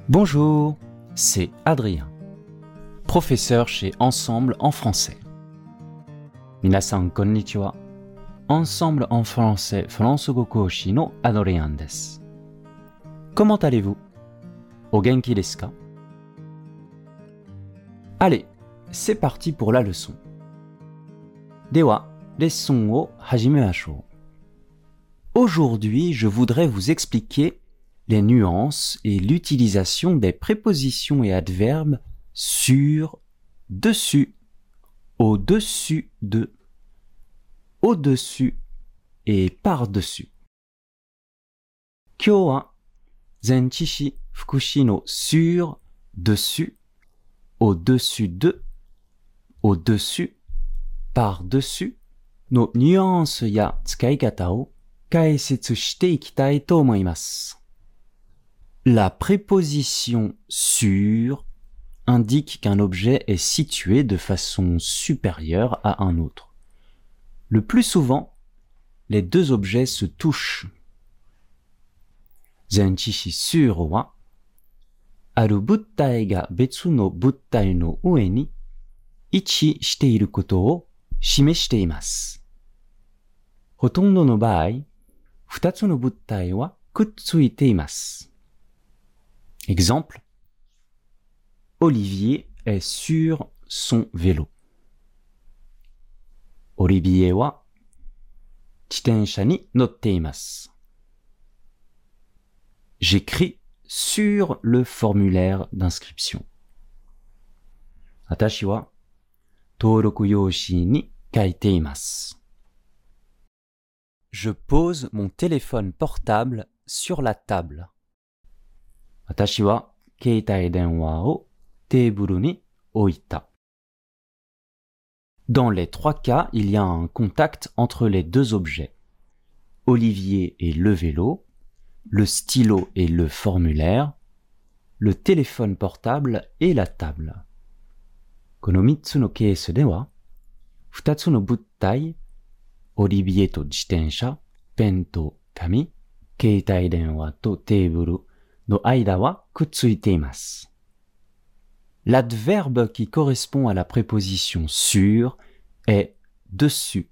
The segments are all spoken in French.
Bonjour, c'est Adrien, professeur chez Ensemble en français. Minasan konnichiwa. Ensemble en français, Français Koshi no Adrien desu. Comment allez-vous? O genki desu ka? Allez, c'est parti pour la leçon. Dewa, leçon o hajimemashou. Aujourd'hui, je voudrais vous expliquer les nuances et l'utilisation des prépositions et adverbes sur, dessus, au-dessus de, au-dessus et par-dessus. Kyou wa zenchishi fukushi no sur, dessus, au-dessus de, au-dessus, par-dessus no nuances ya tsukaikata o kaisetsu shite ikitai to omoimasu. La préposition sur indique qu'un objet est situé de façon supérieure à un autre. Le plus souvent, les deux objets se touchent. Zenchishi sur wa aru buttai ga betsu no buttai no ue ni ichi shite iru koto o shimeshite imasu. Hotondo no baai, futatsu no buttai wa kutsuite imasu. Exemple, Olivier est sur son vélo. Olivier wa jitensha ni notte imasu. J'écris sur le formulaire d'inscription. Watashi wa touroku yoshi ni kaite imasu. Je pose mon téléphone portable sur la table. Watashi wa keitai denwa o teiburu ni oita. Dans les trois cas, il y a un contact entre les deux objets. Olivier et le vélo, le stylo et le formulaire, le téléphone portable et la table. Kono mitsu no keesu de wa, futatsu no buttai, Olivier to jitensha, pen to kami, keitai denwa to teiburu no aida wa kutsuite imasu. L'adverbe qui correspond à la préposition sur est dessus.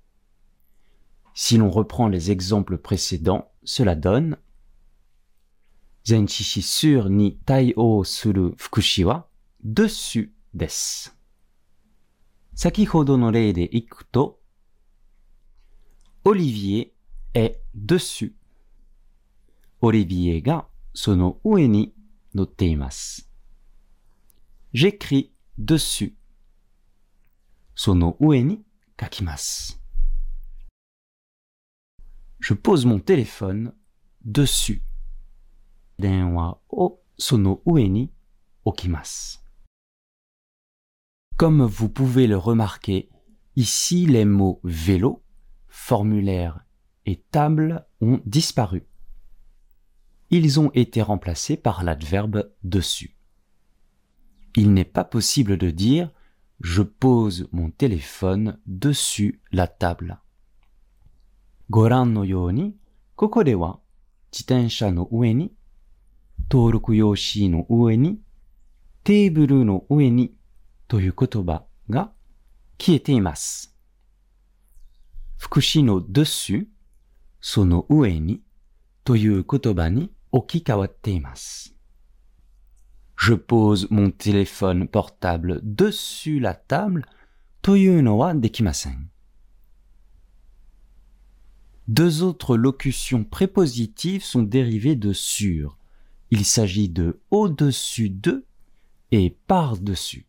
Si l'on reprend les exemples précédents, cela donne Zenchishi sur ni tai-o suru fukushi wa dessus desu. Sakihodo no rei de iku to, Olivier est dessus. Olivier ga sono ue ni notte imasu. J'écris dessus. Sono ue ni kakimasu. Je pose mon téléphone dessus. Denwa o sono ue ni okimasu. Comme vous pouvez le remarquer, ici les mots vélo, formulaire et table ont disparu. Ils ont été remplacés par l'adverbe dessus. Il n'est pas possible de dire « je pose mon téléphone dessus la table ». Goran no you ni, koko de wa jitensha no ue ni, touroku yoshi no ue ni, teiburu no ue ni toyu kotoba ga kiete imasu. Fukushi no dessus, sono ue ni toyu kotoba ni oki kawatte imasu. Je pose mon téléphone portable dessus la table, toyu no wa dekimasen. Deux autres locutions prépositives sont dérivées de sur. Il s'agit de au-dessus de et par-dessus.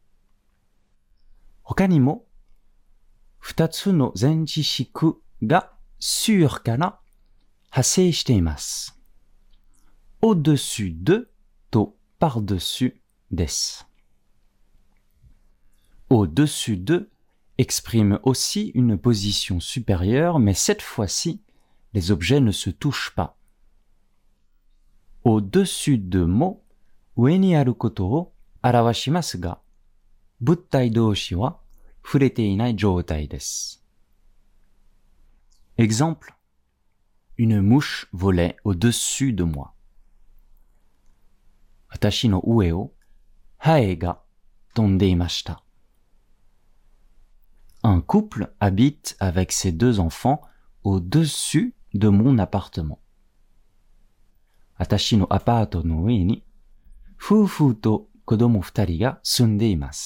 Hoka ni mo, futatsu no zenjishiku ga sur kara hasei shite imasu. Au-dessus de to par-dessus desu. Au-dessus de exprime aussi une position supérieure, mais cette fois-ci, les objets ne se touchent pas. Au-dessus de mo, ue ni aru koto o arawashimasu ga, buttai doushi wa furete inai joutai desu. Exemple, une mouche volait au-dessus de moi. 私の上をハエが飛んでいました。Un couple habite avec ses 2 enfants au-dessus de mon appartement. 私のアパートの上に夫婦と子供2人が住んでいます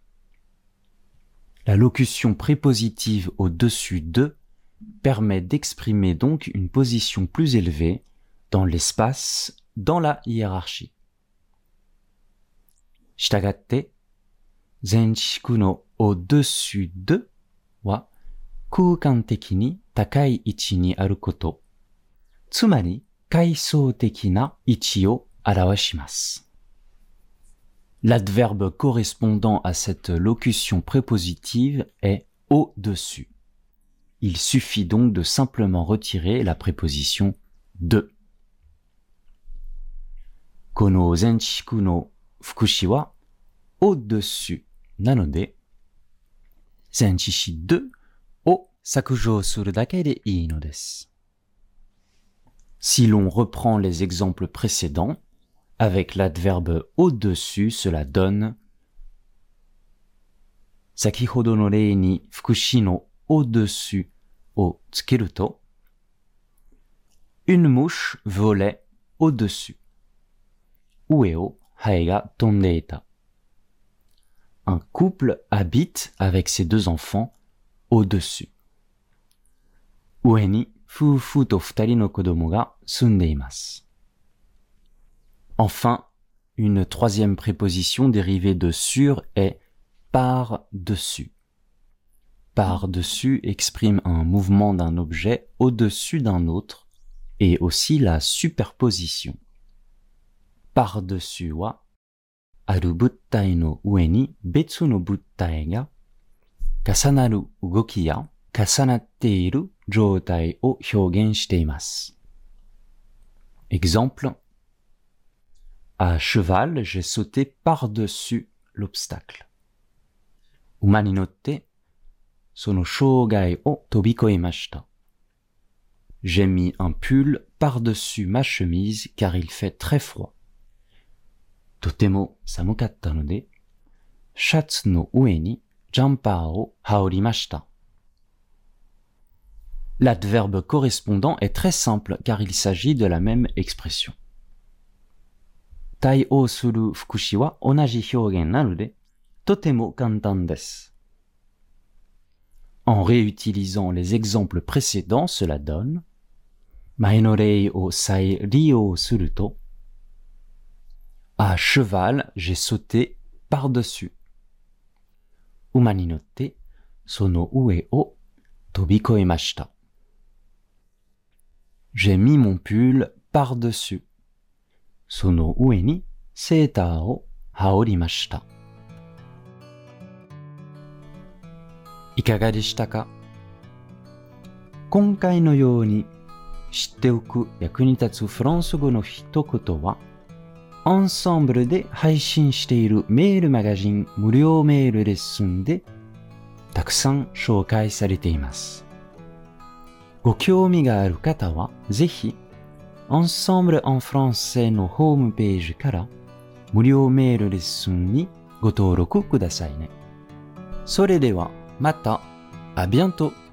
。La locution prépositive au-dessus de permet d'exprimer donc une position plus élevée dans l'espace, dans la hiérarchie. したがって、前置詞の au-dessus de は空間的に高い位置にあること、つまり階層的な位置を表します。L'adverbe correspondant à cette locution prépositive est au-dessus. Il suffit donc de simplement retirer la préposition de. この前置詞の副詞は au-dessus なので、前置詞deを削除するだけでいいのです。Si l'on reprend les exemples précédents, avec l'adverbe au-dessus, cela donne 先ほどの例に副詞の au-dessus をつけると Une mouche volait au-dessus. 上をハエが飛んでいた。Un couple habite avec ses 2 enfants au-dessus. 上に夫婦と2人の子供が住んでいます。Enfin, une troisième préposition dérivée de sur est par-dessus. Par-dessus exprime un mouvement d'un objet au-dessus d'un autre et aussi la superposition. Par-dessus は、ある物体の上に別の物体が重なる動きや重なっている状態を表現しています。Exemple, à cheval, j'ai sauté par-dessus l'obstacle. 馬に乗って、その障害を飛び越えました。J'ai mis un pull par-dessus ma chemise car il fait très froid. とても寒かったので、シャツの上にジャンパーを羽織りました。L'adverbe correspondant est très simple car il s'agit de la même expression. 対応する副詞は同じ表現なので、とても簡単です。En réutilisant les exemples précédents, cela donne 前の例を再利用すると À cheval, j'ai sauté par-dessus. 馬に乗って、その上を飛び越えました。J'ai mis mon pull par-dessus. その上にセーターを羽織りました。いかがでしたか？今回のように知っておく役に立つフランス語の一言は、アンサンブルで配信しているメールマガジン無料メールレッスンでたくさん紹介されています。ご興味がある方はぜひEnsemble en français のホームページから無料メールレッスンにご登録くださいね。それではまた、à bientôt!